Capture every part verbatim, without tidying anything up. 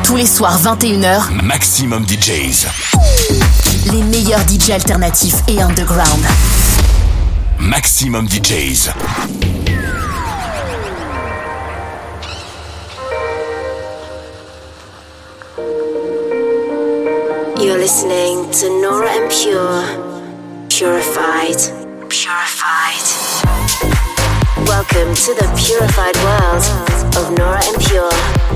Tous les soirs vingt et une heures, Maximum D Js. Les meilleurs D J alternatifs et underground. Maximum D Js. You're listening to Nora En Pure. Purified. Purified. Welcome to the purified world of Nora En Pure.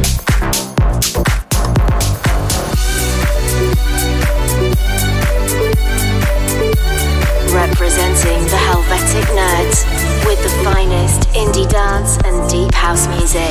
Representing the Helvetic Nerds with the finest indie dance and deep house music.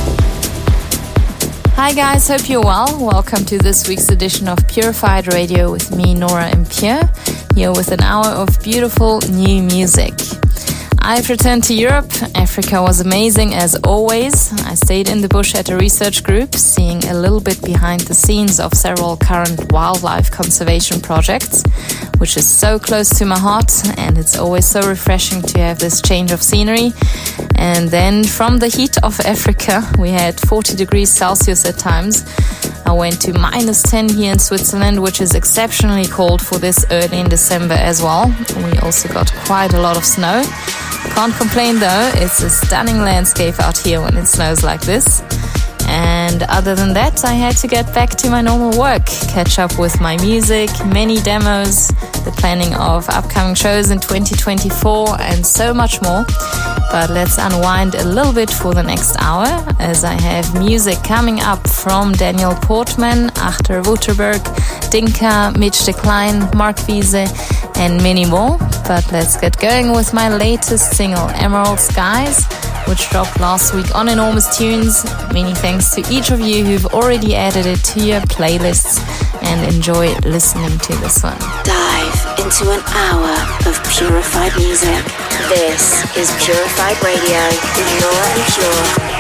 Hi guys, hope you're well. Welcome to this week's edition of Purified Radio with me, Nora En Pure, here with an hour of beautiful new music. I've returned to Europe. Africa was amazing as always. I stayed in the bush at a research group, seeing a little bit behind the scenes of several current wildlife conservation projects, which is so close to my heart, and it's always so refreshing to have this change of scenery. And then from the heat of Africa, we had forty degrees Celsius at times. I went to minus ten here in Switzerland, which is exceptionally cold for this early in December as well. We also got quite a lot of snow. Can't complain though, it's a stunning landscape out here when it snows like this. And other than that, I had to get back to my normal work, catch up with my music, many demos, the planning of upcoming shows in twenty twenty-four, and so much more. But let's unwind a little bit for the next hour, as I have music coming up from Daniel Portman, Achter Wouterberg, Dinka, Mitch Decline, Mark Wiese, and many more. But let's get going with my latest single, Emerald Skies, which dropped last week on Enormous Tunes. Many thanks to each of you who've already added it to your playlists, and enjoy listening to this one. Dive into an hour of purified music. This is Purified Radio with Nora En Pure.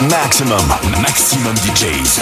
Maximum, Maximum D Js.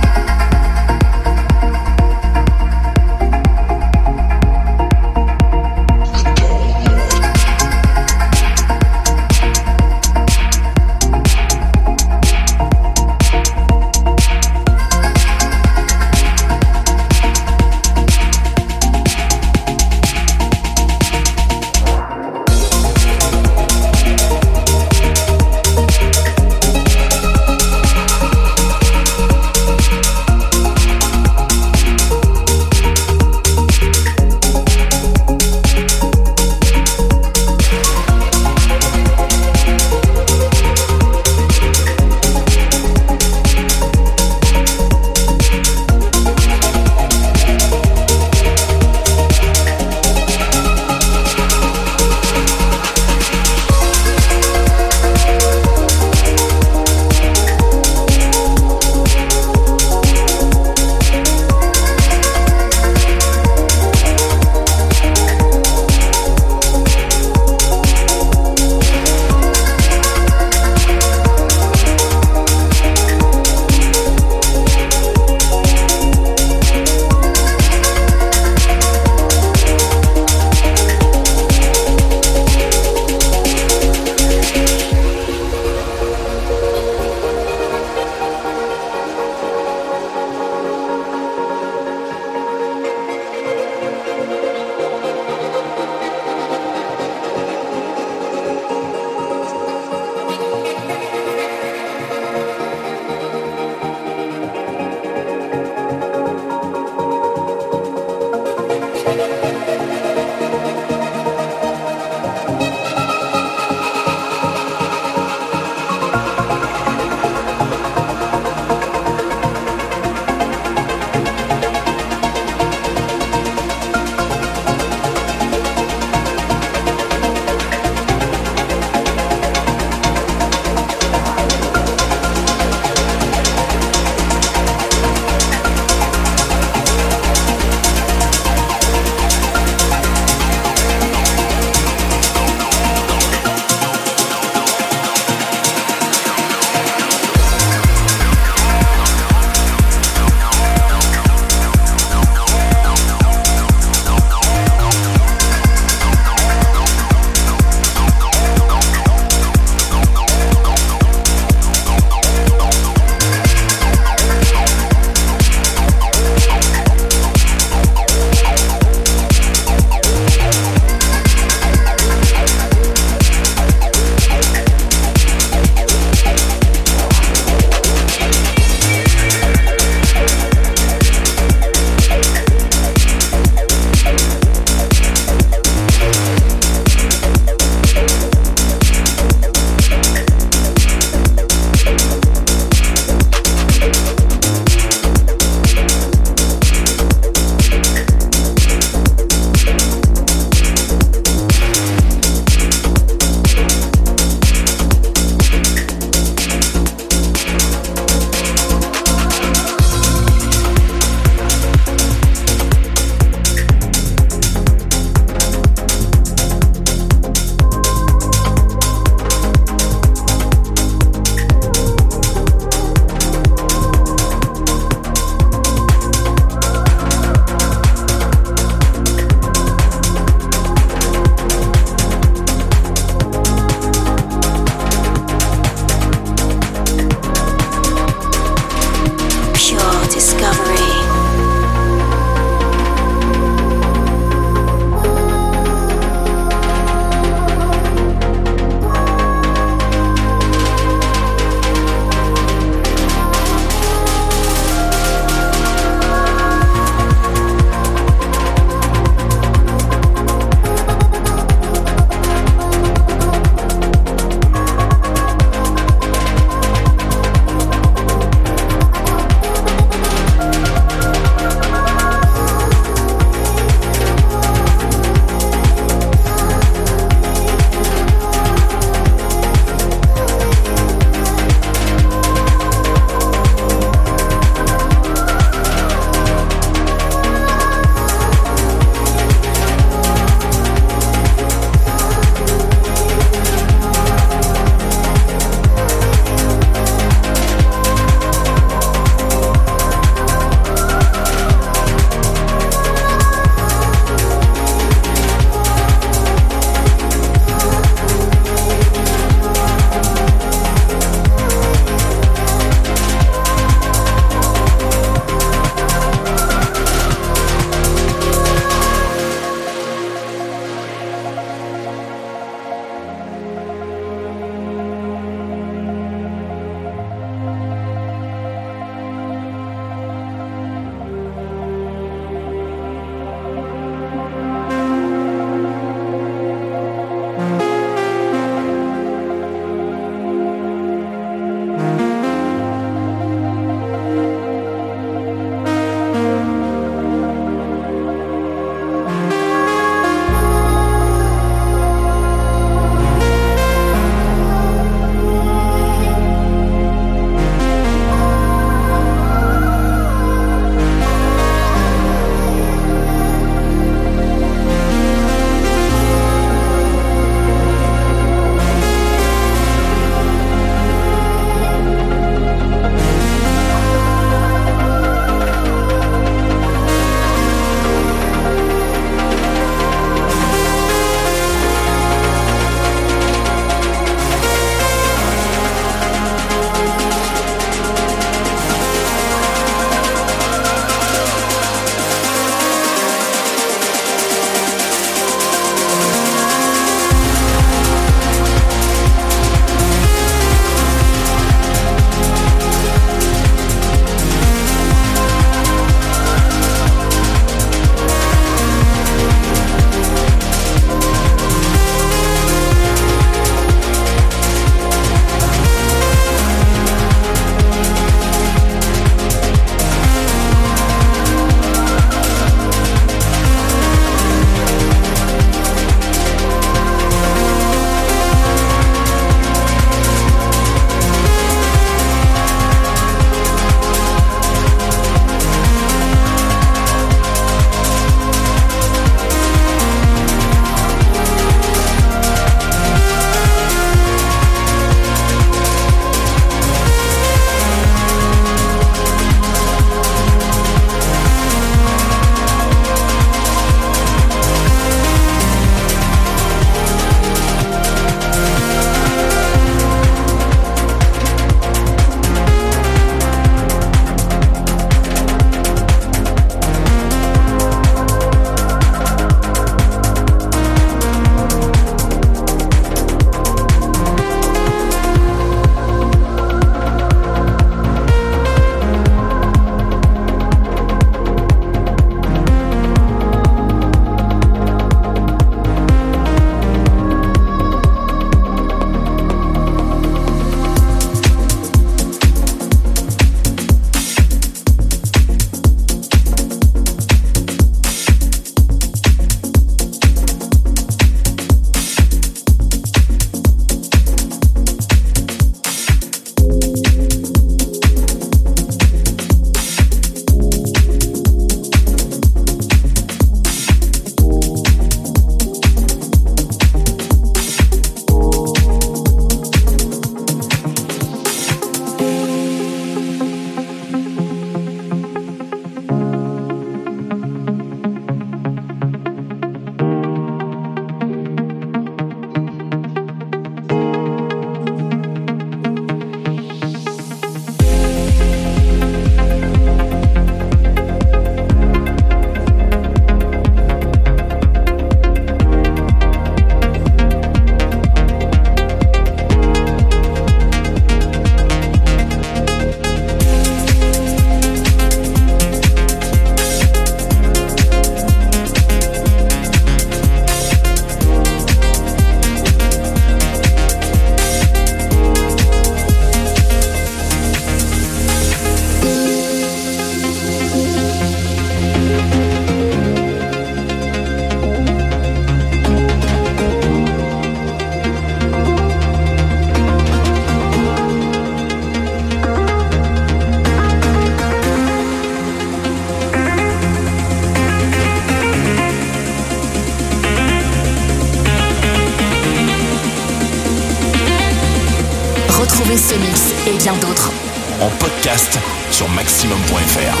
et bien d'autres. En podcast sur maximum point f r.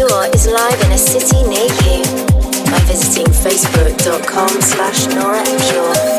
Pure is live in a city near you by visiting facebook.com slash Nora En Pure.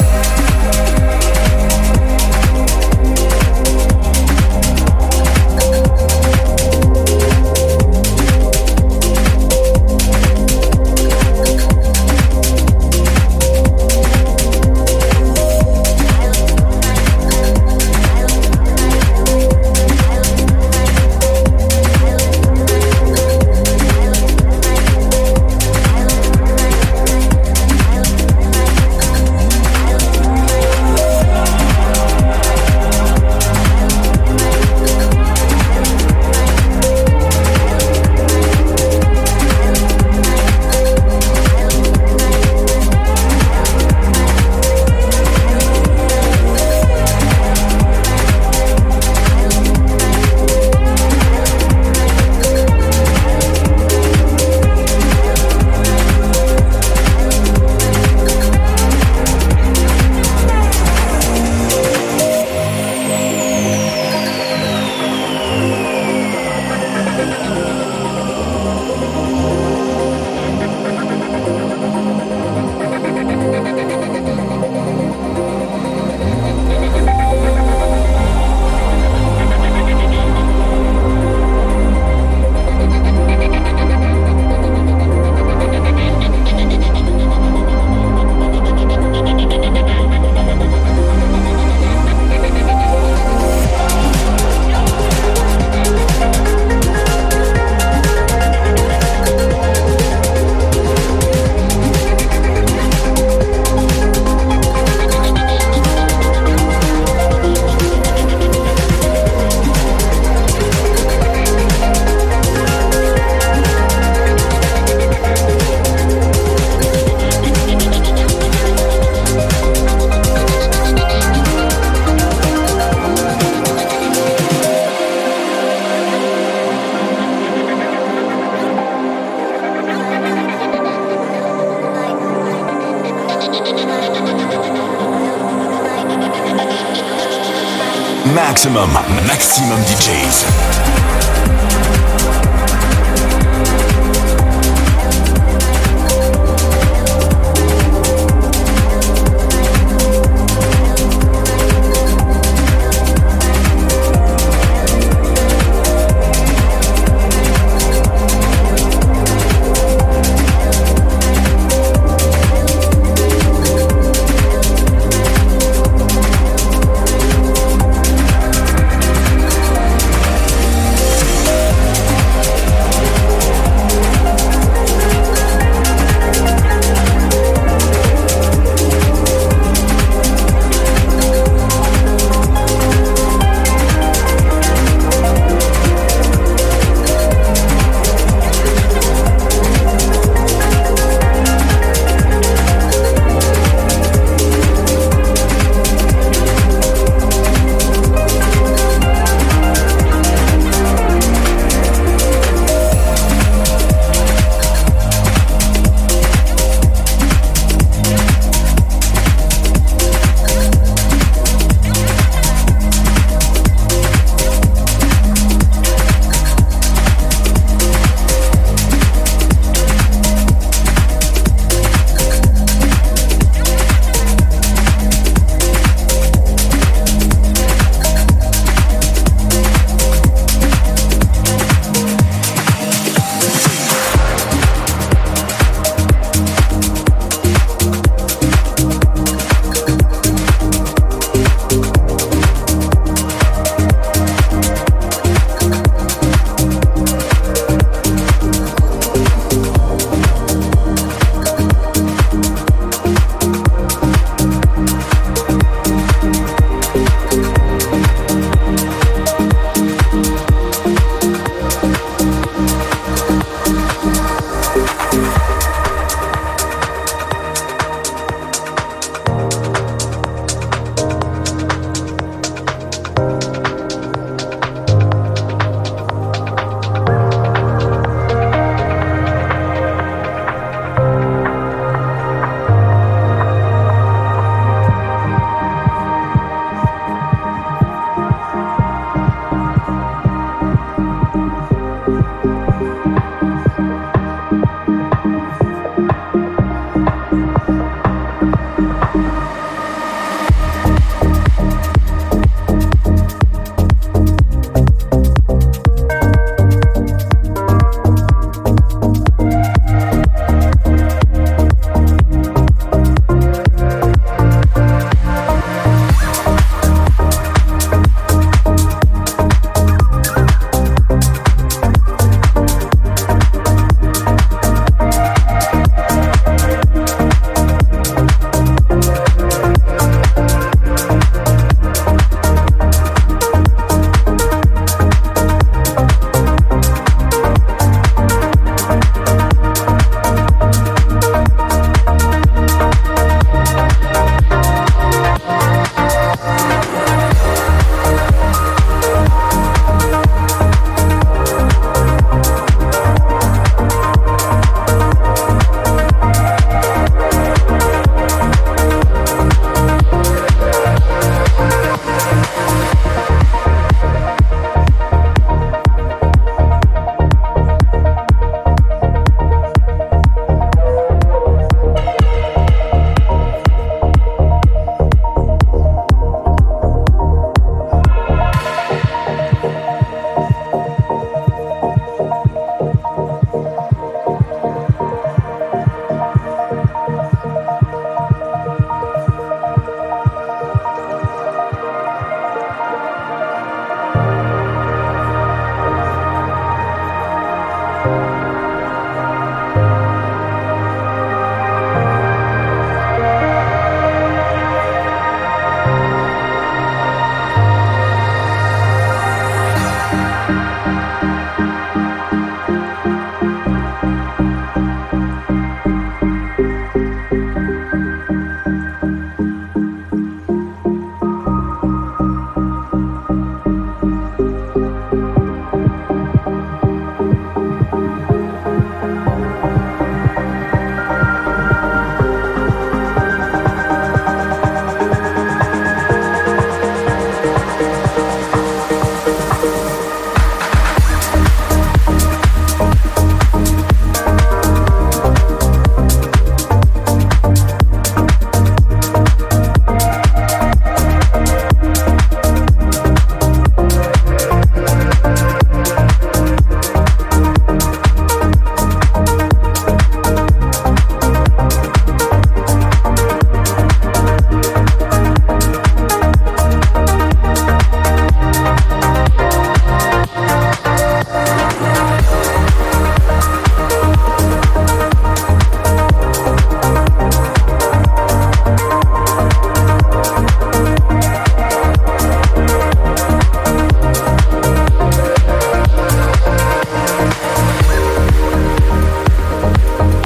Maximum, maximum D Js.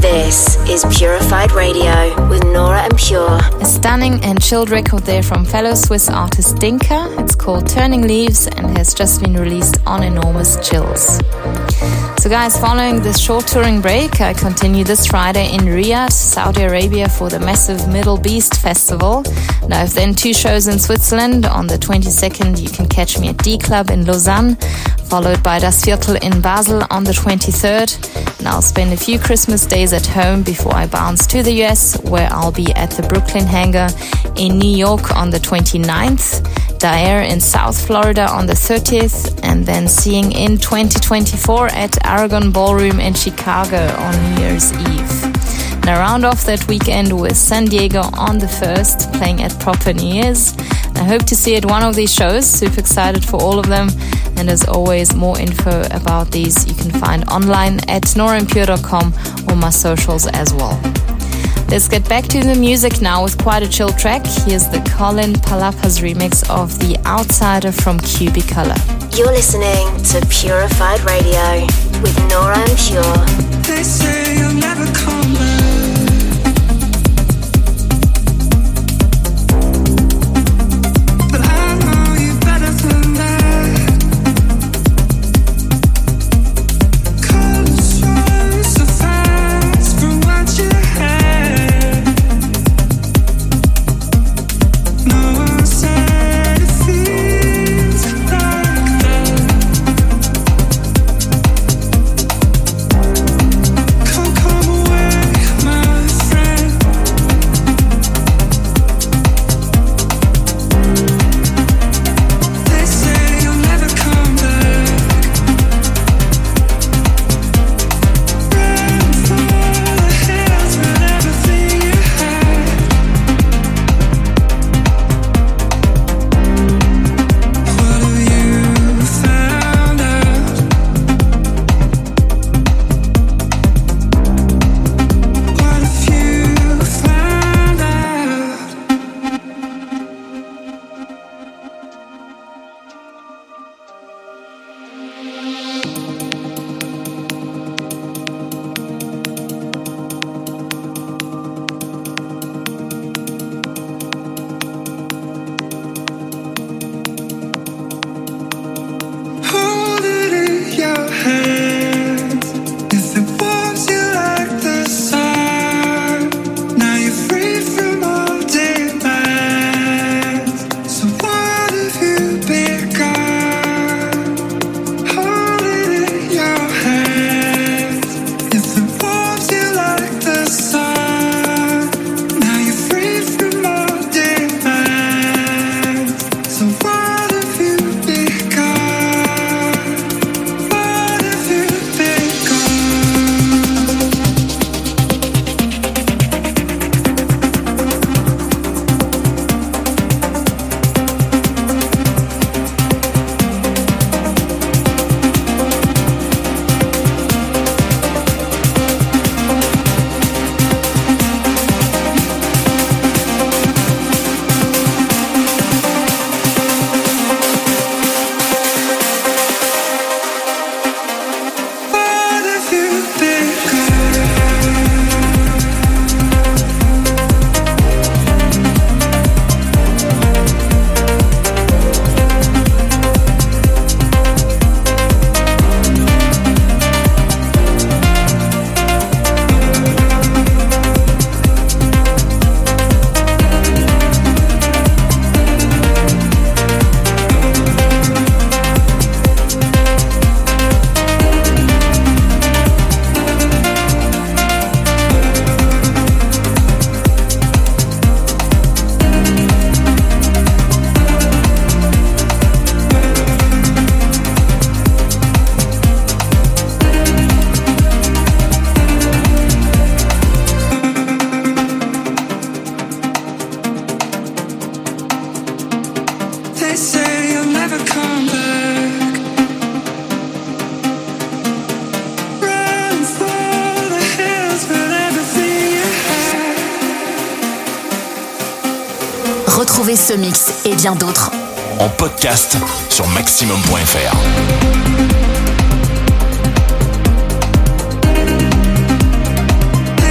This is Purified Radio with Nora En Pure. A stunning and chilled record there from fellow Swiss artist Dinka. It's called Turning Leaves and has just been released on Enormous Chills. So guys, following this short touring break, I continue this Friday in Riyadh, Saudi Arabia for the massive Middle Beast Festival. And I have then two shows in Switzerland. On the twenty-second, you can catch me at D Club in Lausanne, followed by Das Viertel in Basel on the twenty-third. And I'll spend a few Christmas days at home before I bounce to the U S, where I'll be at the Brooklyn Hangar in New York on the twenty-ninth. Dare in South Florida on the thirtieth, and then seeing in twenty twenty-four at Aragon Ballroom in Chicago on New Year's Eve. And I round off that weekend with San Diego on the first, playing at Proper New Year's. I hope to see you at one of these shows. Super excited for all of them. And as always, more info about these you can find online at nora en pure dot com or my socials as well. Let's get back to the music now with quite a chill track. Here's the Colin Palapas remix of The Outsider from Cubicolor. You're listening to Purified Radio with Nora En Pure. They say you'll never come back. But I know you better than that. Colors run so fast from what you had. No one said it feels like that. Come, come away, my friend. They say you'll never come back. Run for the hills with everything you had. What have you found out? What have you found out? Hold it in your hands. If it warms you like the sun, now you're free from all demands. So what have you become? Hold it in your hands. If it warms you like the sun, now you're free from all demands. So what have you become? What have you become? What have you become? They say you'll never come back. Run for the hills with everything you had. Retrouvez ce mix et bien d'autres En podcast sur maximum point f r. They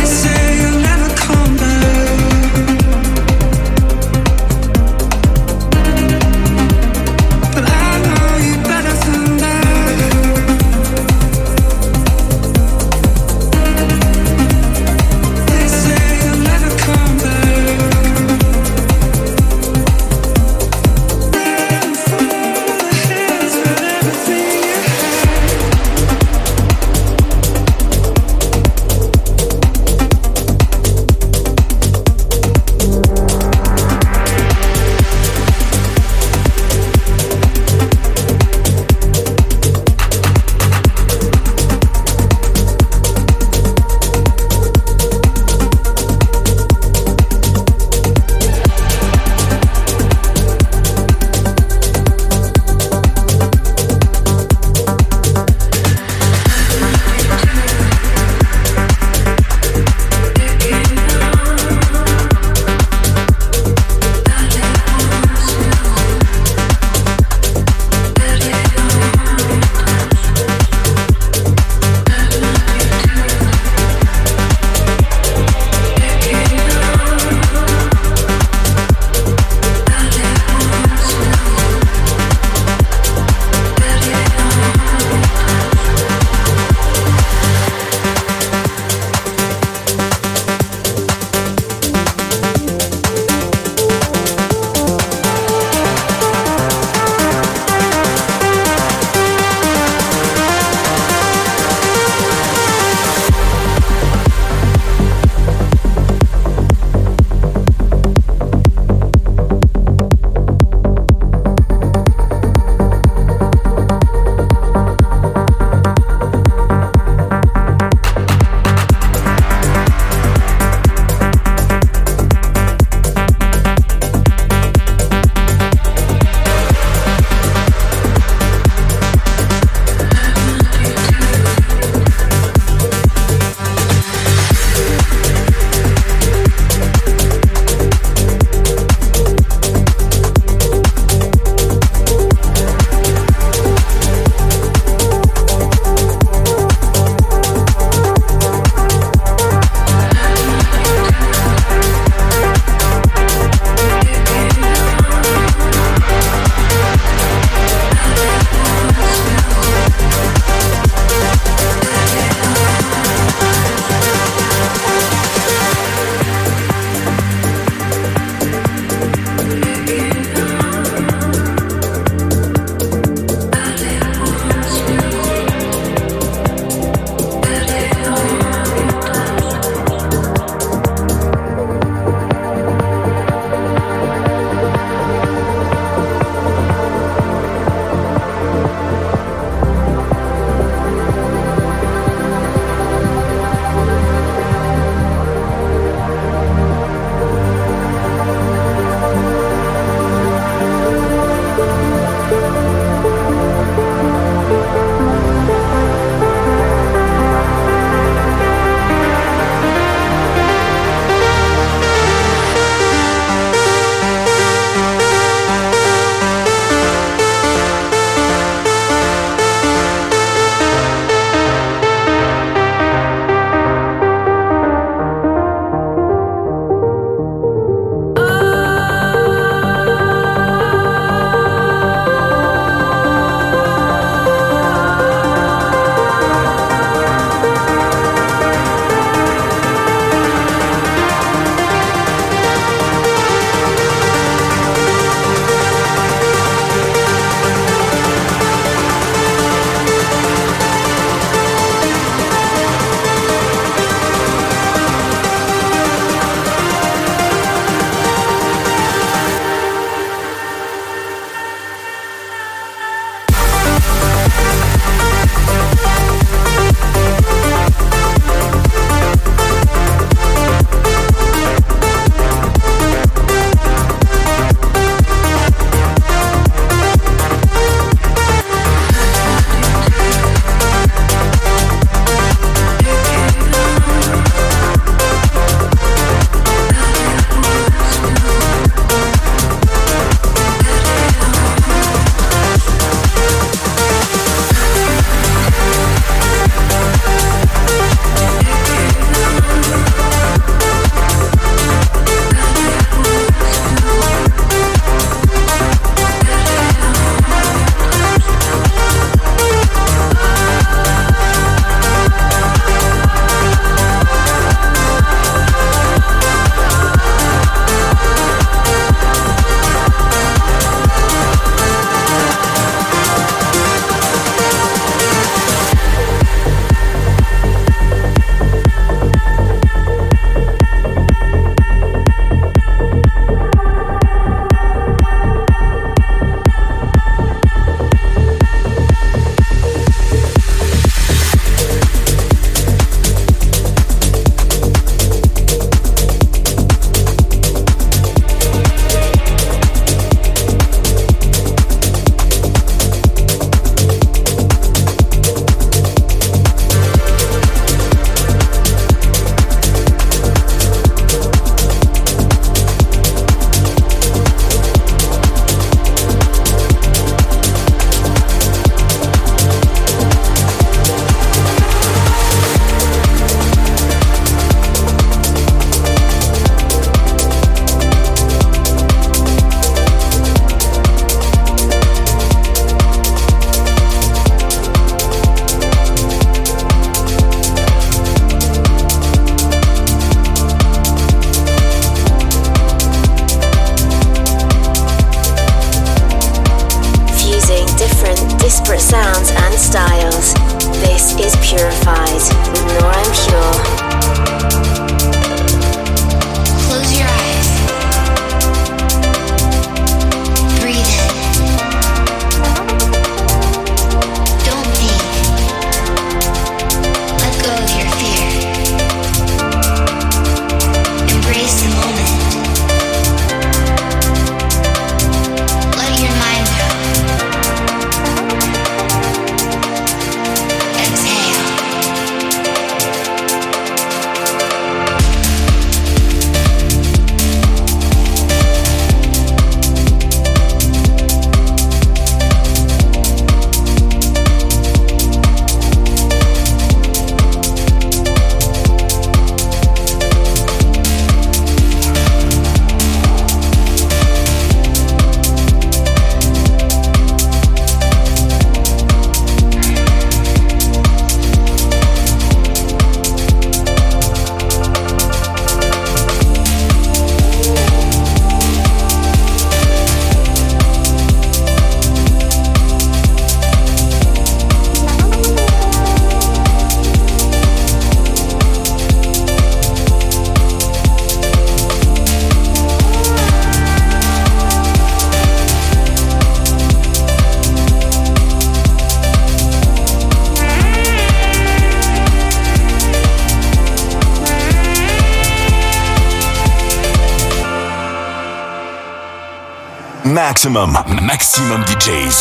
Maximum, Maximum D Js.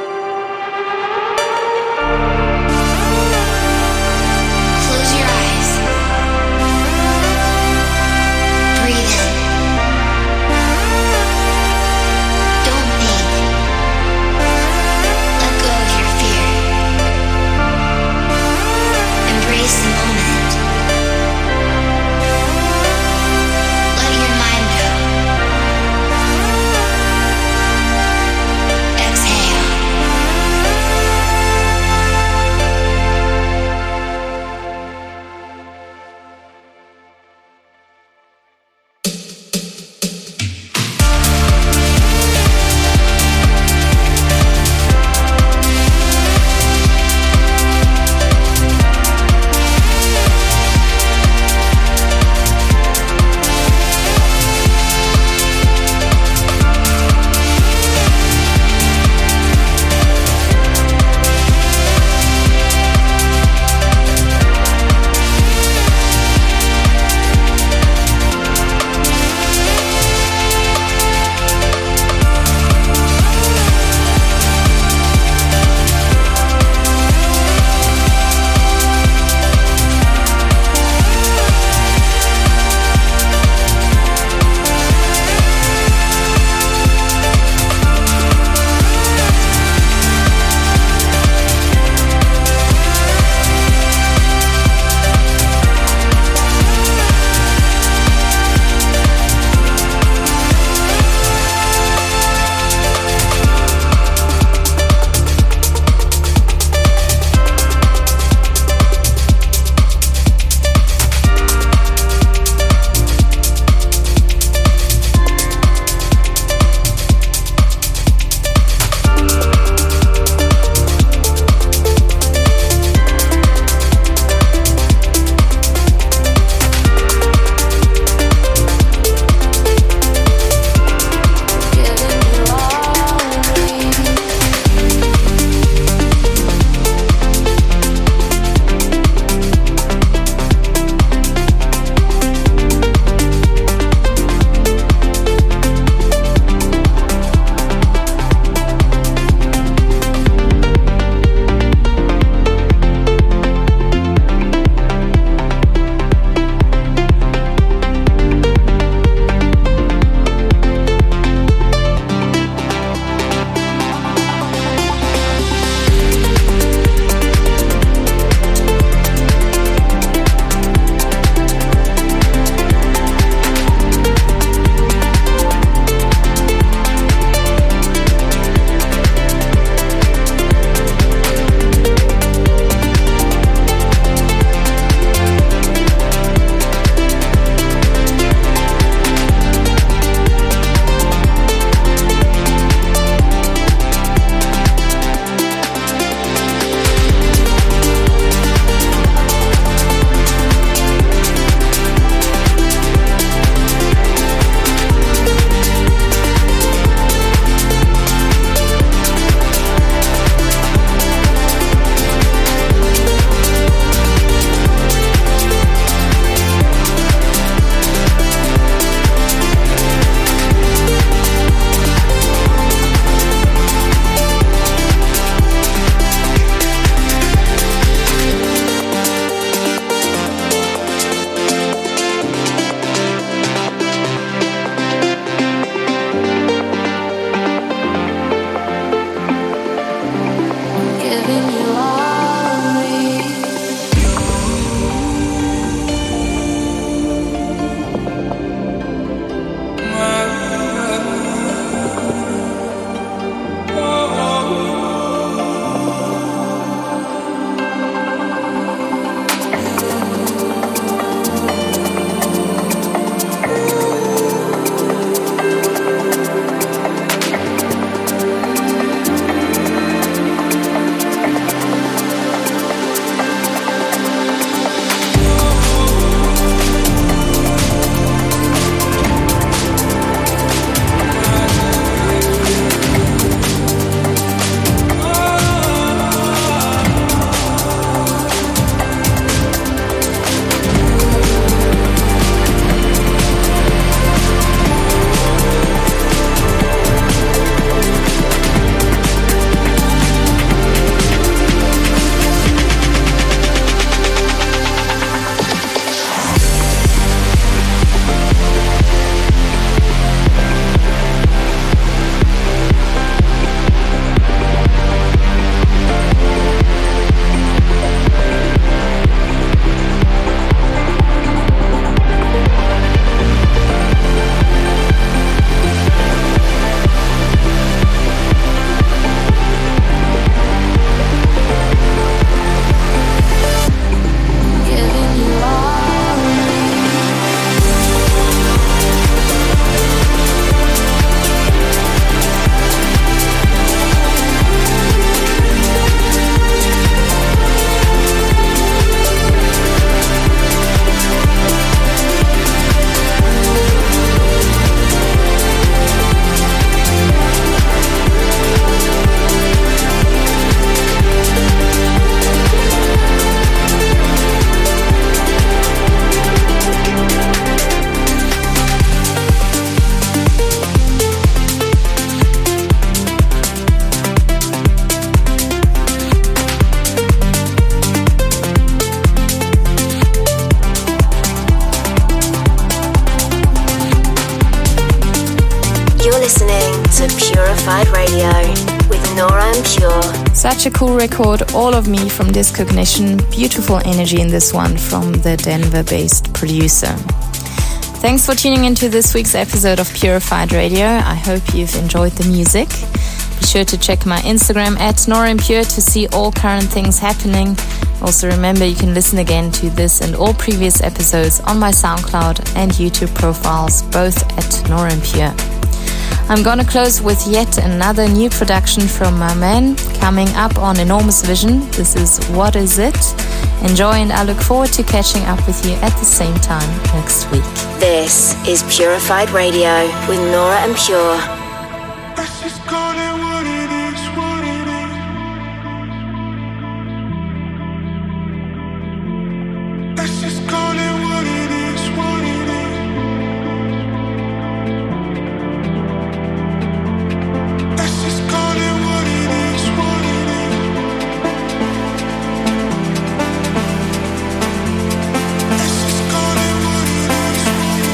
Close your eyes. listening to Purified Radio with Nora En Pure. Such a cool record, All of Me from Discognition. Beautiful energy in this one from the Denver-based producer. Thanks for tuning into this week's episode of Purified Radio. I hope you've enjoyed the music. Be sure to check my Instagram at Nora En Pure to see all current things happening. Also remember you can listen again to this and all previous episodes on my SoundCloud and YouTube profiles, both at Nora En Pure. I'm gonna close with yet another new production from my man coming up on Enormous Vision. This is What Is It? Enjoy, and I look forward to catching up with you at the same time next week. This is Purified Radio with Nora En Pure. Let's just call it what it is, what it is. Let's just call it what it is, what it is. Let's just call it what it is, what it is. Let's just call it what it is, what it is.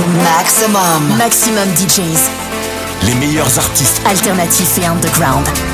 Maximum. Maximum D Js. Les meilleurs artistes Alternatifs et underground.